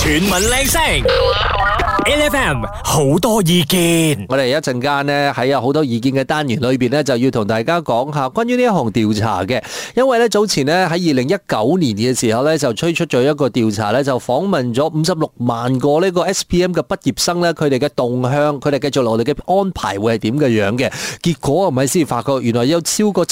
全民靚聲，LFM 好多意見。 我哋一陣間呢，喺有好多意見嘅單元裏邊呢，就要同大家講下關於呢一項調查嘅。因為呢，早前呢，喺2019年嘅時候呢，就推出咗一個調查呢，就訪問咗56萬個呢個 SPM 嘅畢業生呢，佢哋嘅動向，佢哋繼續落嚟嘅安排會係點嘅樣嘅。結果係咪先發覺原來有超過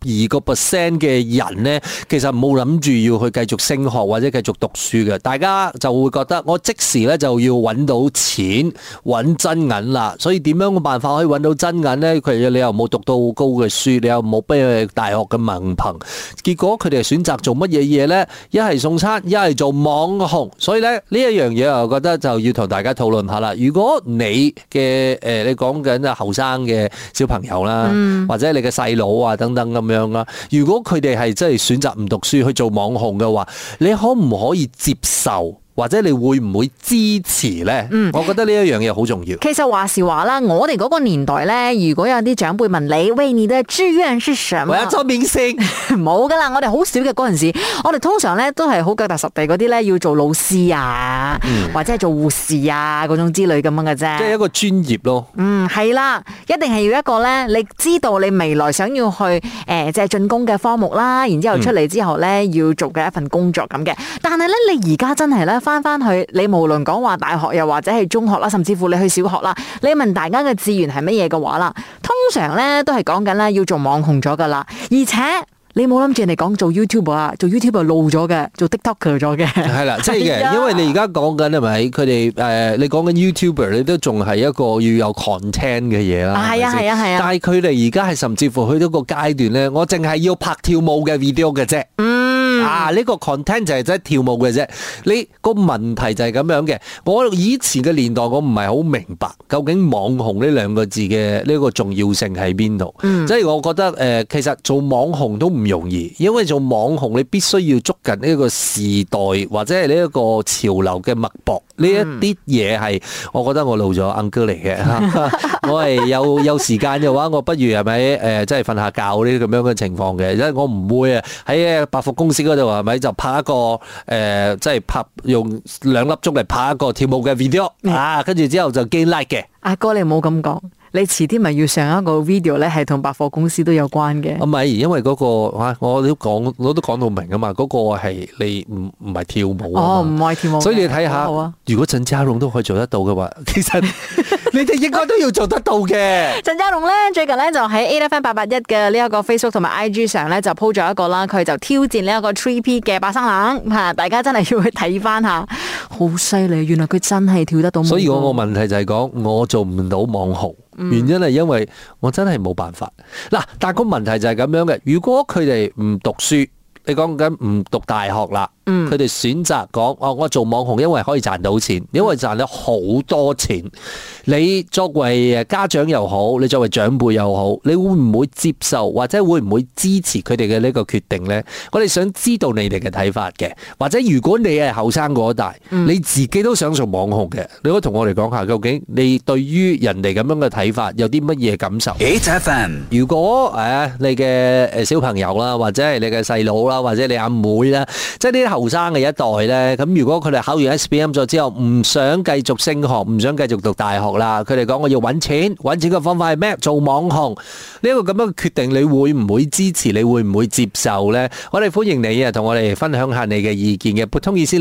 72% 嘅人呢，其實冇諗住要去繼續升學或者繼續讀書嘅。大家就會覺得我即時呢就要揾到錢揾真銀啦，所以點樣嘅辦法可以揾到真銀呢？你又冇讀到好高嘅書，你又冇俾大學嘅文憑，結果佢哋選擇做乜嘢嘢呢？一係送餐，一係做網紅。所以咧呢一樣嘢，我覺得就要同大家討論下啦。如果你嘅你講緊後生嘅小朋友啦，或者你嘅細佬啊等等咁樣啦，如果佢哋係真係選擇唔讀書去做網紅嘅話，你可唔可以接受？或者你會唔會支持呢？我覺得呢一樣嘢好重要。 其實話時話啦，我哋嗰個年代呢，如果有啲長輩問你，喂，你的志願是什麼？ 我要做明星。 冇噶啦，我哋好少嘅嗰陣時，我哋通常呢都係好腳踏實地嗰啲呢，要做老師啊，或者係做護士啊嗰種之類咁樣嘅啫。 即係一個專業咯。 係啦，一定係要一個呢，你知道你未來想要去即係進攻嘅科目啦，然之後出嚟之後呢，要做嘅一份工作咁嘅。但係呢，你而家真係呢。翻去，你無論講話大學又或者係中學啦，甚至乎你去小學啦，你問大家嘅志願係乜嘢嘅話啦，通常咧都係講緊咧要做網紅咗噶啦，而且你冇諗住人哋講做 YouTuber 啊，做 YouTuber 老咗嘅，做 TikToker 咗嘅， 係啦，即係嘅，因為你而家講緊係咪？佢哋你講緊 YouTuber，你都仲係一個要有 content 嘅嘢啦。係啊。但係佢哋而家係甚至乎去到個階段咧，我淨係要拍跳舞嘅 video 嘅啫。呢個 content 就係真係跳舞嘅啫。你個問題就係咁樣嘅。我以前嘅年代，我唔係好明白究竟網紅呢兩個字嘅呢個重要性喺邊度。即係我覺得其實做網紅都唔容易，因為做網紅你必須要捉緊呢個時代或者係呢一個潮流嘅脈搏。呢一啲嘢係我覺得我老咗 uncle 嚟嘅。我係有時間嘅話，我不如係咪即係瞓下覺呢啲咁樣嘅情況嘅，因為我唔會喺百貨公司嗰度係咪就拍一個即係用2粒鐘嚟拍一個跳舞嘅 video 跟住之後就 gain like 嘅。 阿哥你唔好咁講，你遲啲咪要上一個 video 咧，係同百貨公司都有關嘅。 唔係，因為嗰個我都講到明啊嘛，嗰個係你唔係跳舞啊嘛。唔係跳舞。所以你睇下，如果陳家榮都可以做得到嘅話，其實你哋應該都要做得到嘅。 陳家榮咧最近咧就喺 AFM881嘅呢一個 Facebook 同埋 IG 上咧就 po 咗一個啦，佢就挑戰呢一個 3P 嘅八生冷吓，大家真係要去睇翻下，好犀利，原來佢真係跳得到舞。所以我個問題就係講我做唔到網紅，原因係因為我真係冇辦法。嗱，但係個問題就係咁樣嘅，如果佢哋唔讀書，你講緊唔讀大學啦。佢哋選擇講我做網紅，因為可以賺到錢，因為賺到好多錢。你作為家長又好，你作為長輩又好，你會唔會接受或者會唔會支持佢哋嘅呢個決定呢？我哋想知道你哋嘅睇法嘅，或者如果你係後生嗰一代，你自己都想做網紅嘅，你可以同我哋講下，究竟你對於人哋咁樣嘅睇法有啲乜嘢感受？8FM，如果你嘅小朋友啦，或者係你嘅細佬啦，或者你阿妹啦，即係呢啲後生嘅一代咧，咁如果佢哋考完 SPM 咗之後唔想繼續升學，唔想繼續讀大學啦，佢哋講我要揾錢嘅方法係咩？做網紅。呢一個咁樣嘅決定，你會唔會支持？你會唔會接受呢？我哋歡迎你同我哋分享下你嘅意見嘅，撥通熱線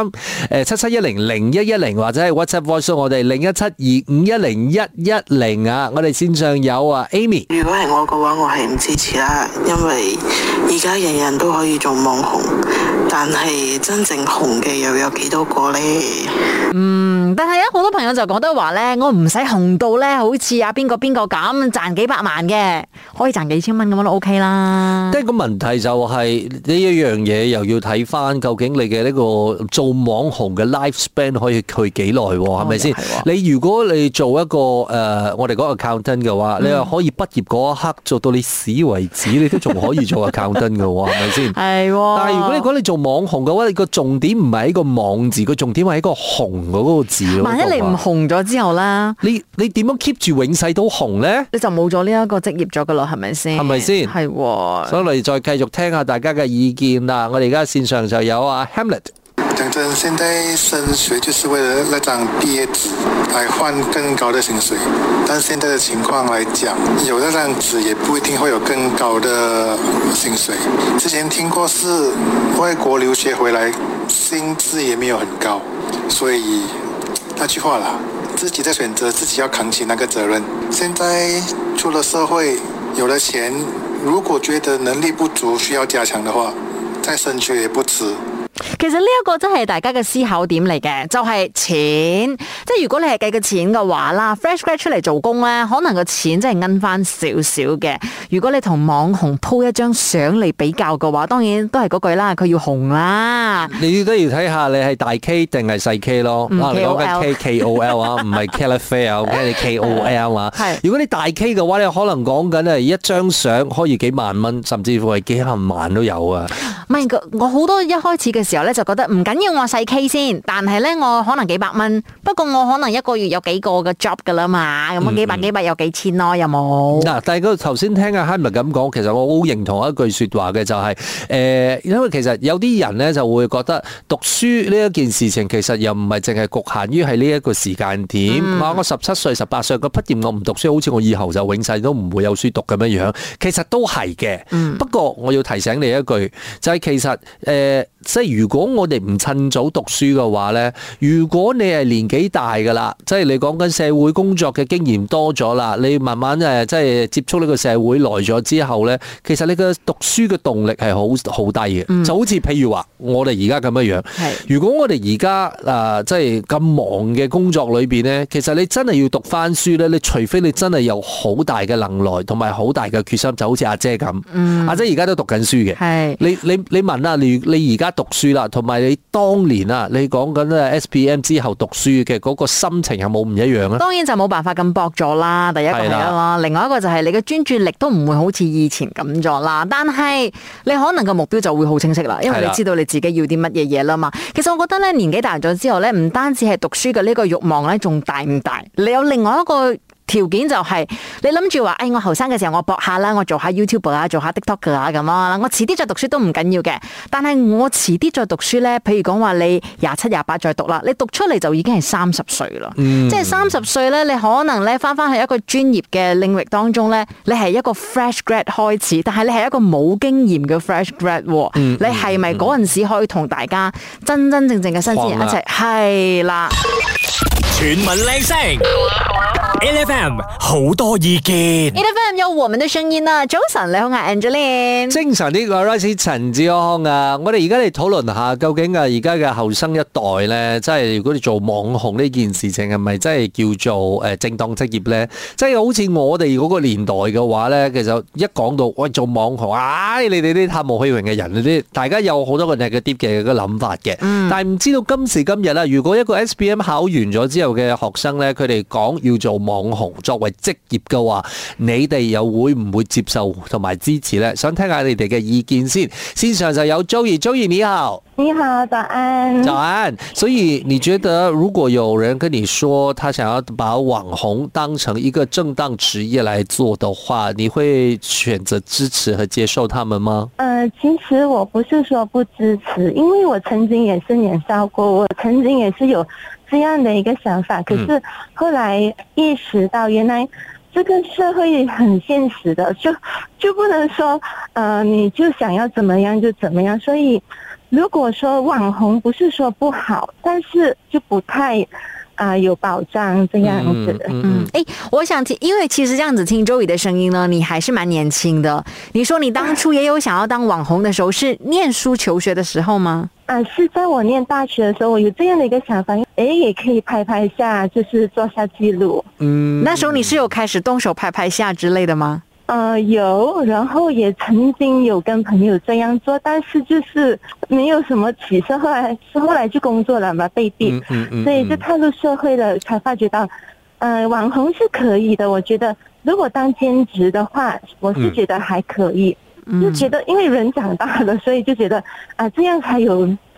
0377100110或者係 WhatsApp Voice 我哋0172510110啊！我哋線上有Amy。 如果係我嘅話，我係唔支持啦，因為而家人人都可以做網紅，但係真正紅嘅又有幾多個呢？ 但係好多朋友就覺得話咧，我唔使紅到咧，好似邊個咁賺幾百萬嘅，可以賺幾千蚊咁樣都 OK 啦。 即係個問題就係呢一樣嘢，又要睇翻究竟你嘅呢個做網紅嘅 lifespan 可以去幾耐，係咪先？你如果你做一個我哋講 accountant 嘅話，你又可以畢業嗰一刻做到你死為止，你都仲可以做 accountant 嘅，係咪先？係。但係如果你講你做網紅嘅話，你個重點唔係喺個網字，個重點係喺個紅嗰個字咯。 萬一你唔紅咗之後咧， 你點樣 keep 住永世都紅咧？ 你就冇咗呢一個職業咗噶啦，係咪先？ 係咪先？係。所以我哋再繼續聽下大家嘅意見啦。我哋而家線上就有Hamlet。 讲真，现在升学就是为了那张毕业纸来换更高的薪水，但现在的情况来讲，有那张纸也不一定会有更高的薪水。之前听过是外国留学回来，薪资也没有很高，所以那句话啦，自己在选择，自己要扛起那个责任。现在出了社会，有了錢，如果覺得能力不足需要加強的話，再升學也不遲。 其實呢一個真係大家嘅思考點嚟嘅，就係錢。即係如果你係計個錢嘅話啦 ，fresh grad 出嚟做工咧，可能個錢真係奀翻少少嘅。如果你同網紅 po 一張相嚟比較嘅話，當然都係嗰句啦，佢要紅啦。 你都要睇下你係大 K 定係細 K 咯。你講緊 KOL 啊，唔係 Calafell 啊，你 KOL 啊。如果你大 K 嘅話，你可能講緊係一張相可以幾萬蚊，甚至乎係幾十萬都有啊。 唔係，我好多一開始嘅時候咧就覺得唔緊要，我細 K 先，但係咧我可能幾百蚊，不過我可能一個月有幾個嘅 job 噶啦嘛，咁幾百有幾千咯，有冇？ 嗱，但係佢頭先聽阿 Hamid 咁講，其實我好認同一句説話嘅，就係因為其實有啲人咧就會覺得讀書呢一件事情其實又唔係淨係局限於係呢一個時間點。我17歲、18歲個畢業，我唔讀書，好似我以後就永世都唔會有書讀咁樣樣。其實都係嘅，不過我要提醒你一句，就係其實即係如果我哋唔趁早讀書嘅話咧，如果你係年紀大噶啦，即係你講緊社會工作嘅經驗多咗啦，你慢慢即係接觸呢個社會耐咗之後咧，其實你嘅讀書嘅動力係好低嘅。就好似譬如話我哋而家咁樣樣，如果我哋而家即係咁忙嘅工作裏邊咧，其實你真係要讀翻書咧，你除非你真係有好大嘅能耐同埋好大嘅決心，就好似阿姐咁。阿姐而家都讀緊書嘅，你問啊，你而家讀書啦，同埋你當年啊，你講緊 SPM 之後讀書嘅嗰個心情有冇唔一樣啊？ 當然就冇辦法咁搏咗啦，第一個係啦，另外一個就係你嘅專注力都唔會好似以前咁咗啦。但係你可能個目標就會好清晰啦，因為你知道你自己要啲乜嘢嘢啦嘛。其實我覺得咧，年紀大咗之後咧，唔單止係讀書嘅呢個慾望咧，仲大唔大？你有另外一個條件就係你諗住話，我後生嘅時候我搏下啦，我做下 YouTube 啊，做下 TikTok 啊咁啦，我遲啲再讀書都唔緊要嘅。但係我遲啲再讀書咧，譬如講話你27、28再讀啦，你讀出嚟就已經係30歲啦。即係30歲咧，你可能咧翻去一個專業嘅領域當中咧，你係一個 fresh grad 開始，但係你係一個冇經驗嘅 fresh grad。你係咪嗰陣時可以同大家真真正正嘅新鮮人一齊？係啦， 全民靚聲。LFM 好多意見 ，LFM 有我們的聲音啊！早晨，你好啊 Angeline。 精神呢個 Rice 陳志康啊，我哋而家嚟討論下，究竟啊而家嘅後生一代咧，即係如果你做網紅呢件事情係咪真係叫做正當職業咧？即係好似我哋嗰個年代嘅話咧，其實一講到喂做網紅，你哋啲貪慕虛榮嘅人，啲大家有好多個 negative 嘅個諗法嘅。但係唔知道今時今日啦，如果一個 SPM 考完咗之後嘅學生咧，佢哋講要做網紅作為職業嘅話，你哋又會唔會接受同埋支持呢？想聽下你哋嘅意見先。線上就有 Joey 你好。 你好，早安。 早安。所以你覺得如果有人跟你說他想要把網紅當成一個正當職業來做的話，你會選擇支持和接受他們嗎？ 其實我不是說不支持，因為我曾經也是年少過，我曾經也是有這樣的一個想法，可是後來意識到原來這個社會很現實的，就不能說你就想要怎麼樣就怎麼樣，所以如果說網紅不是說不好，但是就不太有保障這樣子。 我想聽，因為其實這樣子聽Joey的聲音呢，你還是蠻年輕的。你說你當初也有想要當網紅的時候，是念書求學的時候嗎？ 是在我念大學的時候，我有這樣的一個想法，也可以拍下，就是做下記錄。 那時候你是有開始動手拍下之類的嗎？ 有，然後也曾經有跟朋友這樣做，但是就是沒有什麼起色。後來就工作了嘛，被逼，所以就踏入社會了，才發覺到，網紅是可以的。我覺得如果當兼職的話，我是覺得還可以，就覺得因為人長大了，所以就覺得這樣才有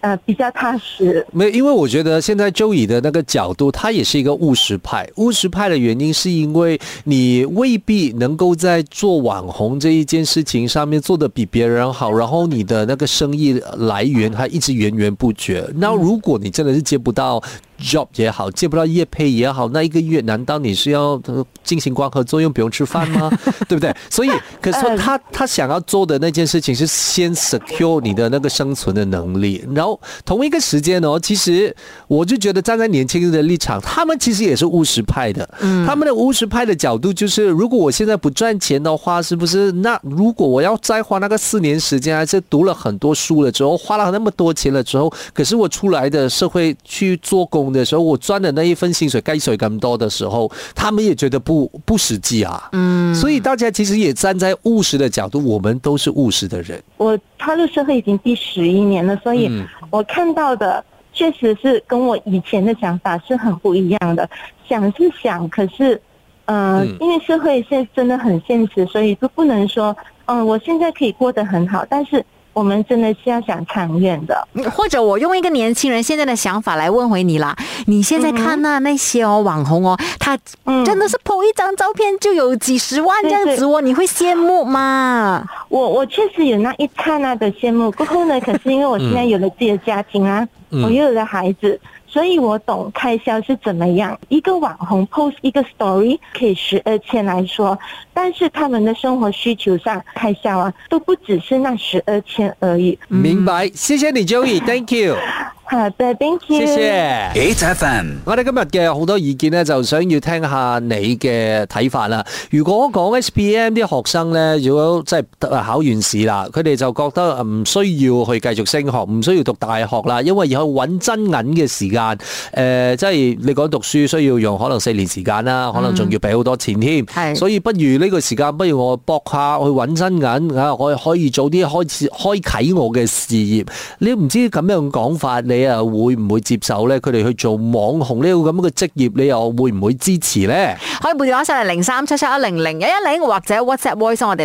比较踏实。 没有，因为我觉得现在Joey的那个角度，他也是一个务实派。务实派的原因是因为你未必能够在做网红这一件事情上面做得比别人好，然后你的那个生意来源还一直源源不绝。那如果你真的是接不到job 也好，接不到业配也好，那一个月难道你是要进行光合作用，不用吃饭吗？对不对？所以，可是他想要做的那件事情是先 secure 你的那个生存的能力，然后同一个时间哦，其实我就觉得站在年轻人的立场，他们其实也是务实派的。他们的务实派的角度就是，如果我现在不赚钱的话，是不是？那如果我要再花那个4年时间，还是读了很多书了之后，花了那么多钱了之后，可是我出来的社会去做工的时候，我赚的那一份薪水该水咁多的时候，他们也觉得不实际啊。所以大家其实也站在务实的角度，我们都是务实的人。 我踏入社会已经第11年了，所以我看到的确实是跟我以前的想法是很不一样的。想是想，可是因为社会现在真的很现实，所以就不能说我现在可以过得很好，但是我们真的是要想长远的。 或者我用一个年轻人现在的想法来问回你啦，你现在看那些网红他真的是 po 一张照片就有几十万这样子哦，你会羡慕吗？ 我确实有那一刹那的羡慕，过后呢，可是因为我现在有了自己的家庭啊，我又有了孩子，所以我懂开销是怎么样。一个网红 post 一个 story 可以12千来说，但是他们的生活需求上开销啊，都不只是那12千而已。 明白，谢谢你 Joey，Thank you。 好的 ，Thank you。 謝謝。 8FM， 我哋今日嘅好多意見咧，就想要聽下你嘅睇法啦。如果講 SPM 啲學生咧，如果即係考完試啦，佢哋就覺得唔需要去繼續升學，唔需要讀大學啦，因為要去揾真銀嘅時間，即係你講讀書需要用可能4年時間啦，可能仲要俾好多錢添，所以不如呢個時間，不如我搏下去揾真銀啊，我可以早啲開啓我嘅事業。你唔知咁樣講法，你會唔會接受咧？佢哋去做網紅呢個咁嘅職業，你又會唔會支持咧？ 可以撥電話上嚟0377100110，或者 WhatsApp voice 我哋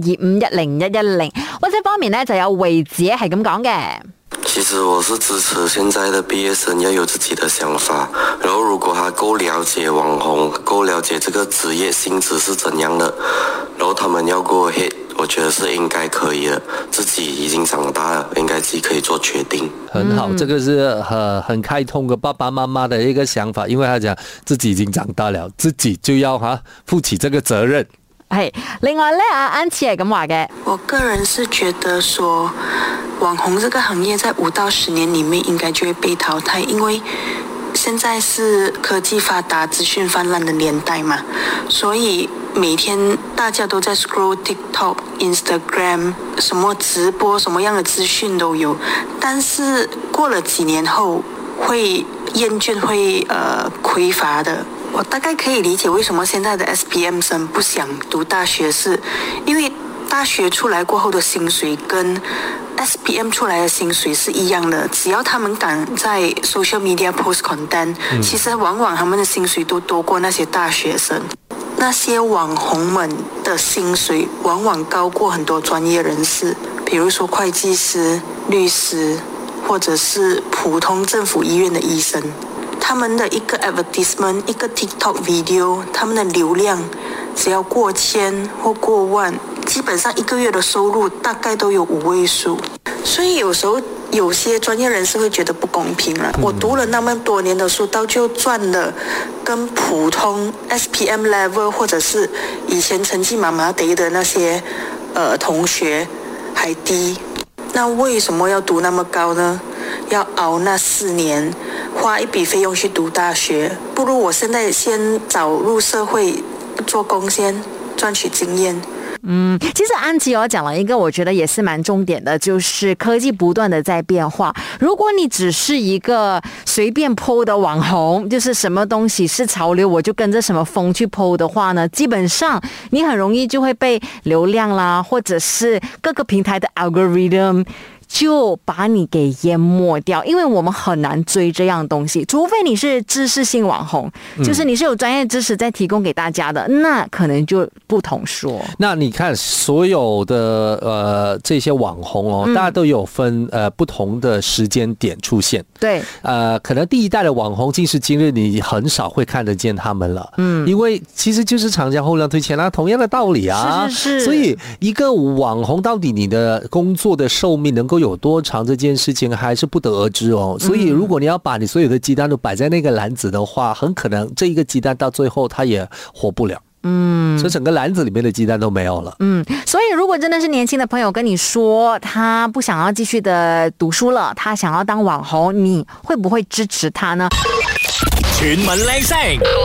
01725101110。WhatsApp 方面咧就有維子係咁講嘅。 其實我是支持現在的畢業生要有自己的想法，然後如果他夠了解網紅，夠了解這個職業性質是怎樣的，然後他們要go ahead，我覺得是應該可以的。自己已經長大了，應該自己可以做決定。 很好，這個是很開通嘅爸爸媽媽的一個想法，因為他講自己已經長大了，自己就要負起這個責任。 係，另外咧，阿安琪係咁話嘅。 我個人是覺得說，網紅這個行業在5到10年裡面應該就會被淘汰，因為現在是科技發達、資訊氾濫的年代嘛，所以每天大家都在 scroll TikTok、Instagram， 什麼直播、什麼樣的資訊都有，但是過了幾年後會厭倦、會匱乏的。我大概可以理解為什麼現在的 SPM 生不想讀大學，是因為大學出來過後的薪水跟 SPM 出來的薪水是一樣的，只要他們敢在 social media post content，其實往往他們的薪水都多過那些大學生。那些網紅們的薪水往往高過很多專業人士，比如說會計師、律師，或者是普通政府醫院的醫生。他們的一個 advertisement， 一個 TikTok video， 他們的流量只要過千或過萬，基本上一個月的收入大概都有5位數。所以有時候有些專業人士會覺得不公平了。我讀了那麼多年的書，到最後賺了跟普通 SPM level 或者是以前成績麻麻地的那些同學還低，那為什麼要讀那麼高呢？要熬那4年，花一筆費用去讀大學，不如我現在先早入社會做工先，賺取經驗。 其實安琪講了一個我覺得也是蠻重點的，就是科技不斷的在變化。如果你只是一個隨便 po 的網紅，就是什麼東西是潮流我就跟着什麼風去 po 的話呢，基本上你很容易就會被流量啦，或者是各個平台的 algorithm 就把你给淹没掉，因为我们很难追这样东西，除非你是知识性网红，就是你是有专业知识在提供给大家的，那可能就不同说。 那你看所有的这些网红哦，大家都有分不同的时间点出现。 对， 可能第一代的网红今时今日你很少会看得见他们了，因为其实就是长江后浪推前浪，同样的道理啊。 是。 所以一个网红到底你的工作的寿命能够有多长，这件事情还是不得而知哦。所以如果你要把你所有的鸡蛋都摆在那个篮子的话，很可能这一个鸡蛋到最后它也活不了。所以整个篮子里面的鸡蛋都没有了。 所以如果真的是年轻的朋友跟你说他不想要继续的读书了，他想要当网红，你会不会支持他呢？ 全民靚聲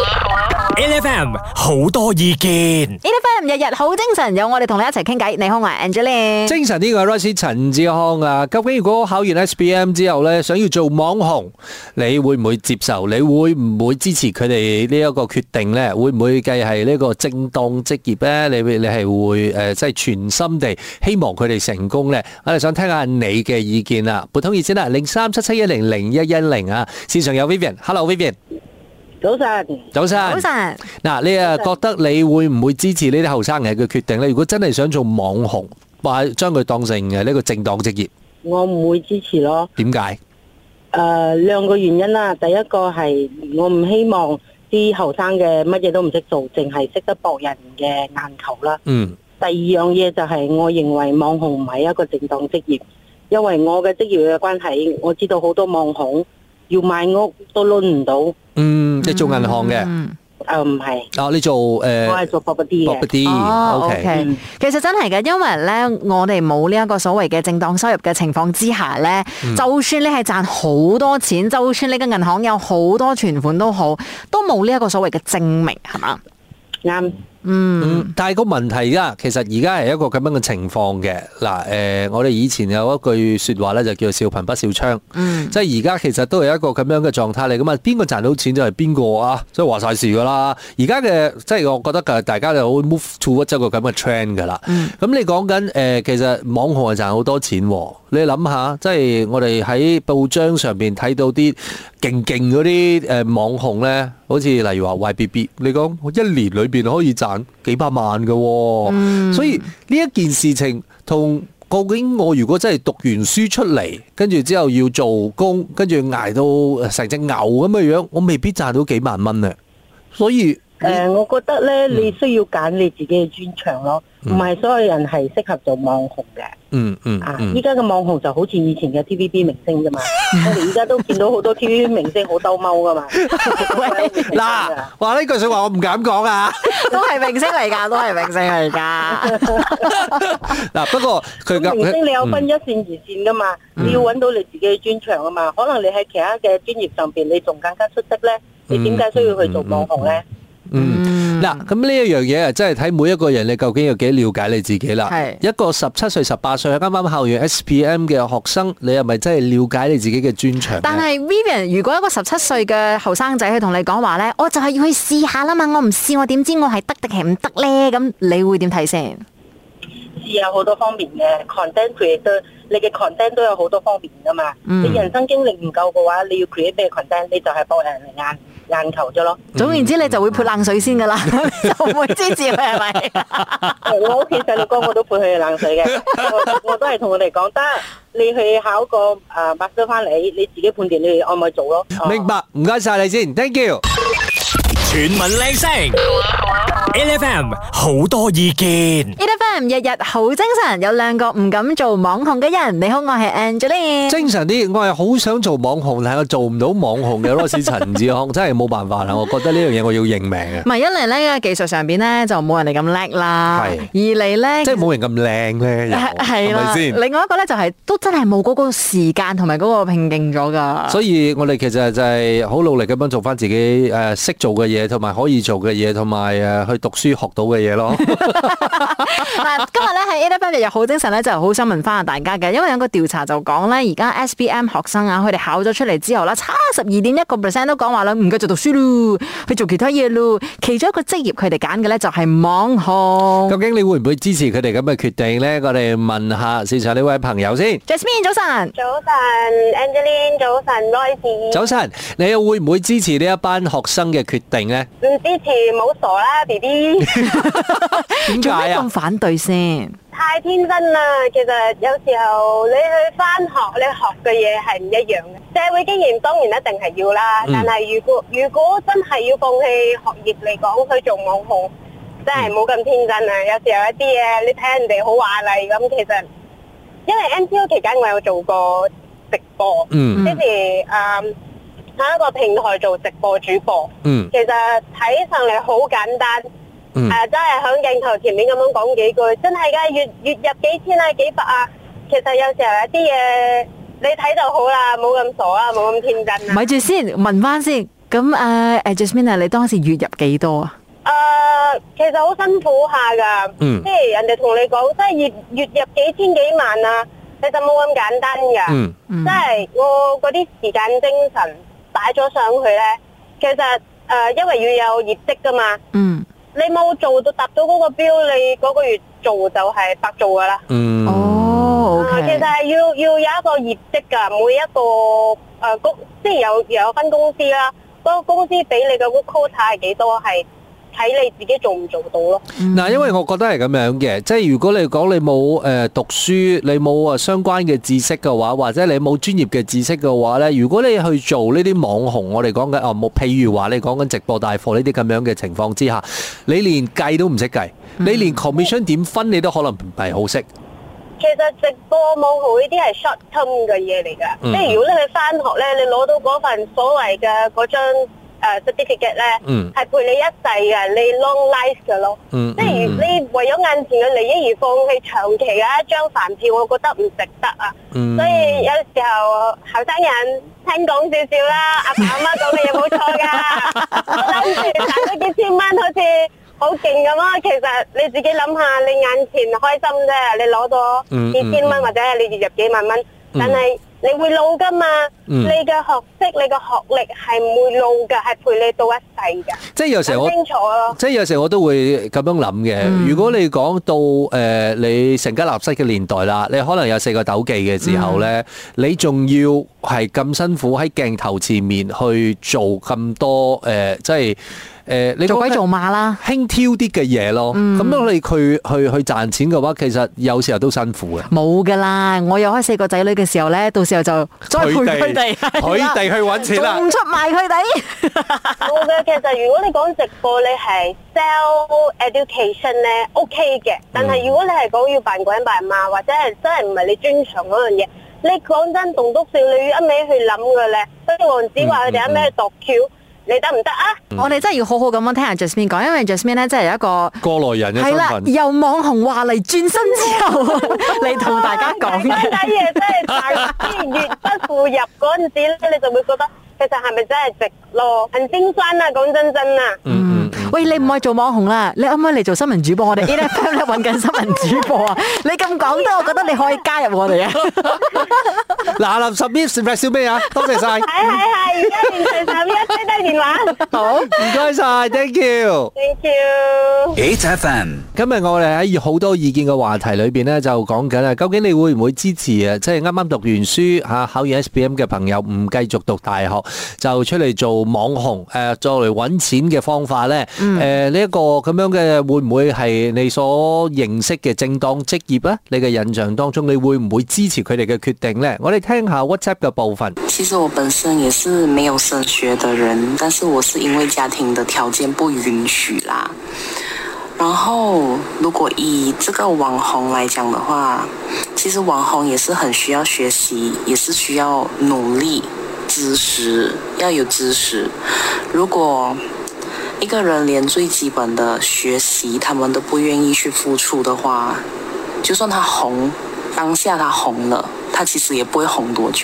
，LFM 好多意見 ，LFM 日日好精神，有我哋同你一齊傾偈。你好，我係 Angeline。 精神呢個 Royce 陳志康啊，究竟如果考完 SPM 之後咧，想要做網紅，你會唔會接受？你會唔會支持佢哋呢一個決定咧？會唔會計係呢個正當職業咧？你係會即係全心地希望佢哋成功咧？我哋想聽下你嘅意見啊！撥通熱線啦，0377100110啊，線上有 Vivian，Hello Vivian。 早晨， 早晨， 早晨。 嗱，你啊覺得你會唔會支持呢啲後生人嘅決定咧？如果真係想做網紅，或將佢當成呢個正當職業， 我唔會支持咯。 點解？ 兩個原因啦。第一個係我唔希望啲後生嘅乜嘢都唔識做，淨係識得博人嘅眼球啦。第二樣嘢就係我認為網紅唔係一個正當職業，因為我嘅職業嘅關係，我知道好多網紅要買屋都輪唔到。 你做銀行嘅？ 唔係。 你做我係做 property 嘅。 OK。其實真係嘅，因為咧，我哋冇呢一個所謂嘅正當收入嘅情況之下咧，就算你係賺好多錢，就算你嘅銀行有好多存款都好，都冇呢一個所謂嘅證明，係嘛？ 啱。 但係個問題啊，其實而家係一個咁樣嘅情況嘅。嗱，我哋以前有一句說話咧，就叫笑貧不笑娼。即係而家其實都係一個咁樣嘅狀態嚟噶嘛。邊個賺到錢就係邊個啊，即係話晒事噶啦。而家嘅即係我覺得大家就好 move towards 一個咁嘅 trend 噶啦。咁你講緊其實網紅係賺好多錢喎。你諗下，即係我哋喺報章上邊睇到啲勁嗰啲網紅咧，好似例如話 YBB， 你講一年裏邊可以賺幾百萬㗎，所以呢一件事情同究竟我如果真係讀完書出嚟，跟住之後要做工，跟住捱到成隻牛咁嘅樣，我未必賺到幾萬蚊咧。所以我覺得咧，你需要揀你自己嘅專長咯，唔係所有人係適合做網紅嘅。依家嘅網紅就好似以前嘅 TVB 明星啫嘛，我哋而家都見到好多 TVB 明星好兜踎噶嘛。 嗱，話呢句說話我唔敢講啊， 都係明星嚟㗎，都係明星嚟㗎。 嗱，不過佢明星你有分一線二線噶嘛，你要揾到你自己嘅專長啊嘛。可能你喺其他嘅專業上邊你仲更加出色咧，你點解需要去做網紅咧？ 嗱，咁呢一樣嘢啊，真係睇每一個人你究竟有幾了解你自己啦。一個17歲、18歲啱啱考完 SPM 嘅學生，你係咪真係了解你自己嘅專長？ 但係 Vivian， 如果一個17歲嘅後生仔去同你講話咧，我就係要去試下啦嘛，我唔試我點知我係得定係唔得咧？咁你會點睇先？ 試有好多方面嘅 content creator， 你嘅 content 都有好多方面噶嘛。你人生經歷唔夠嘅話，你要 create 咩 content， 你就係博人嚟眼球啫咯。 總言之，你就會潑冷水先噶啦，就唔會支持佢係咪？ 我屋企細路哥我都潑佢冷水嘅，我都係同佢哋講得，你去考個master翻嚟，你自己判斷你愛唔愛做咯。 明白，唔該晒你先 ，thank you。 全民靚聲 ，LFM 好多意見 ，LFM 日日好精神，有兩個唔敢做網紅嘅人。你好，我係 Angeline。 精神啲，我係好想做網紅，但係我做唔到網紅嘅Royce陳志康，真係冇辦法啦。我覺得呢樣嘢我要認命嘅。 唔係一嚟咧，技術上邊咧就冇人哋咁叻啦。係。二嚟咧， 即係冇人咁靚咧，係咪先？ 另外一個咧就係都真係冇嗰個時間同埋嗰個拼勁咗㗎。 所以我哋其實就係好努力咁樣做翻自己識做嘅嘢。同埋可以做嘅嘢，同埋去讀書學到嘅嘢咯。 嗱，今日咧喺 8FM 日日好精神咧，就好想問翻下大家嘅，因為有個調查就講咧，而家 SPM 學生啊，佢哋考咗出嚟之後啦，差12.1% 都講話啦，唔繼續讀書咯，去做其他嘢咯。其中一個職業佢哋揀嘅咧就係網紅。 究竟你會唔會支持佢哋咁嘅決定咧？我哋問下線上呢位朋友先。 Jasmine 早晨， 早晨 Angeline， 早晨 Royce， 早晨，你又會唔會支持呢一班學生嘅決定咧？ 唔支持冇傻啦 BB， 點做咩解啊？ 咁反對先？ 太天真啦。其實有時候你去返學，你學嘅嘢係唔一樣嘅。社會經驗當然一定係要啦，但係如果真係要放棄學業嚟講去做網紅，真係冇咁天真啊！有時候一啲嘢你睇人哋好華麗咁，其實因為 MCO 期間我有做過直播，即係喺一個平台做直播主播，其實睇上嚟好簡單，真係響鏡頭前面咁樣講幾句，真係㗎，月入幾千啊幾百啊，其實有時候有啲嘢你睇就好啦，冇咁傻啊，冇咁天真啊。 咪住先，問翻先，咁Jasmine 你當時月入幾多啊？ 其實好辛苦下㗎，即係人哋同你講，即係月入幾千幾萬啊，其實冇咁簡單㗎，即係我嗰啲時間精神擺咗上去咧，其實因為要有業績㗎嘛，你冇做到達到嗰個標，你嗰個月做就係白做㗎啦。其實係要有一個業績㗎，每一個即係有分公司啦，嗰個公司俾你嘅 quota 係幾多係。睇你自己做唔做到咯。 嗱，因為我覺得係咁樣嘅，即係如果你講你冇讀書，你冇相關嘅知識嘅話，或者你冇專業嘅知識嘅話咧，如果你去做呢啲網紅，我哋講緊冇，譬如話你講緊直播帶貨呢啲咁樣嘅情況之下，你連計都唔識計，你連 commission 點分你都可能唔係好識。 其實直播網紅呢啲係 short term 嘅嘢嚟㗎，即係如果你去返學咧，你攞到嗰份所謂嘅嗰張certificate 咧，係陪你一世嘅，你 long life 嘅咯。即係你為咗眼前嘅利益而放棄長期嘅一張飯票，我覺得唔值得啊。所以有時候後生人聽講少少啦，阿爸阿媽講嘅嘢冇錯㗎。我諗住賺咗幾千蚊，好似好勁咁啊！其實你自己諗下，你眼前開心啫，你攞到幾千蚊或者係你月入幾萬蚊，但係你會老噶嘛？你嘅學識、你嘅學歷係唔會老噶，係陪你到一世噶。 即係有時候清楚咯。即係有時候我都會咁樣諗嘅。如果你講到你成家立室嘅年代啦，你可能有4個斗記嘅時候咧，你仲要係咁辛苦喺鏡頭前面去做咁多即係。你做鬼做馬啦， 輕佻啲嘅嘢咯。咁樣你去賺錢嘅話，其實有時候都辛苦嘅。 冇噶啦，我有開4個仔女嘅時候咧，到時候就再陪佢哋去揾錢啦， 仲唔出賣佢哋。 冇嘅，其實如果你講直播，你係 sell education 咧 OK 嘅，但係如果你係講要扮鬼扮馬，或者係真係唔係你專長嗰樣嘢，你講真棟篤笑，你要一味去諗嘅咧，好似黃子華佢哋一味去度橋。你得唔得啊？ 我哋真係要好好咁樣聽下 Jasmine 講，因為 Jasmine 咧真係有一個過來人嘅身份。係啦， 由網紅話嚟轉身之後，嚟同大家講嘅。 嗰啲嘢真係大資源不付入嗰陣時咧，你就會覺得其實係咪真係值咯？很心酸啊！講真啊。 喂，你唔可以做網紅啦，你可唔可以嚟做新聞主播？我哋 8FM 咧揾緊新聞主播啊！你咁講得，我覺得你可以加入我哋啊！ 嗱，submit 小咩啊？多謝晒。 係，而家連隨11低低電話。好， 唔該晒 ，thank you。Thank you。8FM。 今日我哋喺好多意見嘅話題裏邊咧，就講緊啊，究竟你會唔會支持啊？即係啱啱讀完書嚇，考完 SPM 嘅朋友唔繼續讀大學，就出嚟做網紅作嚟揾錢嘅方法咧？呢一個咁樣嘅會唔會係你所認識嘅正當職業咧？你嘅印象當中，你會唔會支持佢哋嘅決定呢？我哋聽下 WhatsApp 嘅部分。 其實我本身也是沒有升學的人，但是我是因為家庭的條件不允許啦。然後如果以這個網紅來講的話，其實網紅也是很需要學習，也是需要努力，知識要有知識。如果一個人連最基本的學習他們都不願意去付出的話，就算他紅，當下他紅了，他其實也不會紅多久。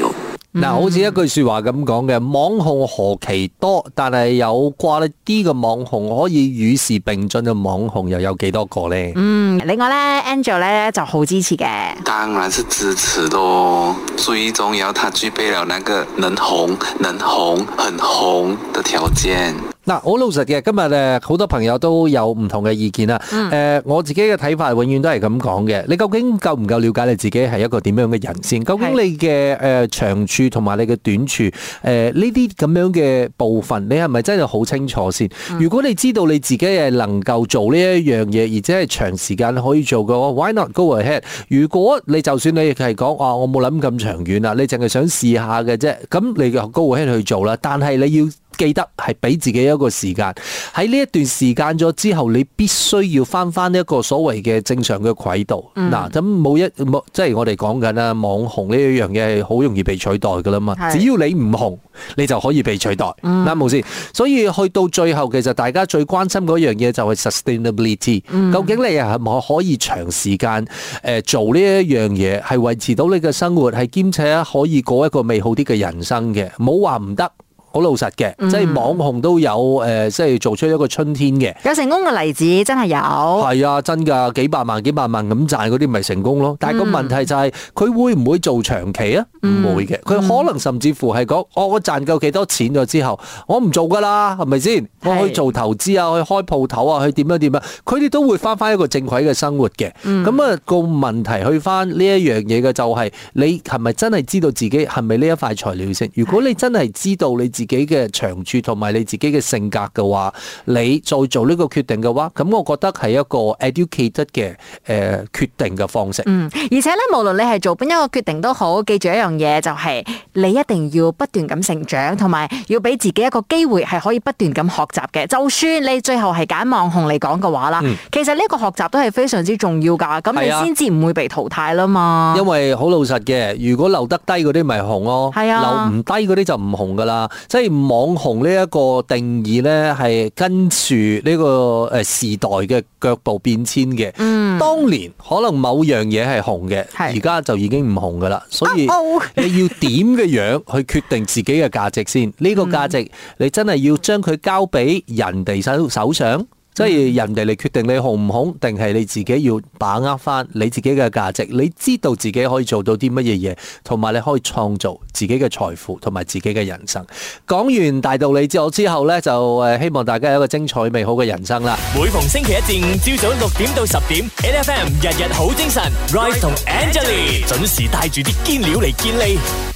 嗱，好似一句說話咁講嘅，網紅何其多，但係有quality啲嘅網紅可以與時並進嘅網紅又有幾多個呢？ 另外咧 ，Angel 咧就好支持嘅。 當然是支持咯，最重要他具備了那個能紅、很紅的條件。 嗱，好老實嘅，今日好多朋友都有唔同嘅意見啦。我自己嘅睇法永遠都係咁講嘅。你究竟夠唔夠了解你自己係一個點樣嘅人先？究竟你嘅長處同埋你嘅短處呢啲咁樣嘅部分，你係咪真係好清楚先？如果你知道你自己係能夠做呢一樣嘢，而且係長時間可以做嘅話 ，why not go ahead？如果你就算你係講我冇諗咁長遠啦，你淨係想試下嘅啫，咁你就 go ahead去做啦。但係你要記得係俾自己一個時間，喺呢一段時間咗之後，你必須要翻一個所謂嘅正常嘅軌道。嗱，咁即係我哋講緊啦，網紅呢一樣嘢係好容易被取代噶啦嘛。只要你唔紅，你就可以被取代，啱冇先？所以去到最後，其實大家最關心嗰樣嘢就係 sustainability。究竟你係咪可以長時間做呢一樣嘢，係維持到你嘅生活，係兼且可以過一個美好啲嘅人生嘅？冇話唔得。好老實嘅，即係網紅都有即係做出一個春天嘅， 有成功嘅例子，真係有。 係啊，真㗎，幾百萬咁賺嗰啲咪成功咯。但係個問題就係佢會唔會做長期啊？唔會嘅，佢可能甚至乎係講我賺夠幾多錢咗之後，我唔做㗎啦，係咪先？我去做投資啊，去開鋪頭啊，去點樣，佢哋都會翻一個正軌嘅生活嘅。咁啊個問題去翻呢一樣嘢嘅就係你係咪真係知道自己係咪呢一塊材料先？如果你真係知道你自己嘅長處同埋你自己嘅性格嘅話，你再做呢個決定嘅話，咁我覺得係一個 educated 嘅決定嘅方式。 而且咧，無論你係做邊一個決定都好，記住一樣嘢就係你一定要不斷咁成長，同埋要俾自己一個機會係可以不斷咁學習嘅。就算你最後係揀網紅嚟講嘅話啦，其實呢個學習都係非常之重要㗎。咁你先至唔會被淘汰啦嘛。 因為好老實嘅，如果留得低嗰啲咪紅咯，留唔低嗰啲就唔紅㗎啦。即係網紅呢一個定義咧，係跟住呢個時代嘅腳步變遷嘅。當年可能某樣嘢係紅嘅，而家就已經唔紅㗎啦。所以你要點嘅樣去決定自己嘅價值先？呢個價值你真係要將佢交俾人哋手上。即係人哋嚟決定你紅唔紅，定係你自己要把握翻你自己嘅價值，你知道自己可以做到啲乜嘢嘢，同埋你可以創造自己嘅財富同埋自己嘅人生。講完大道理之後呢，就希望大家有一個精彩美好嘅人生啦。 每逢星期一至五朝早6點到10點 ，NFM 日日好精神 ，Rise 同 Angelie 準時帶住啲堅料嚟健利。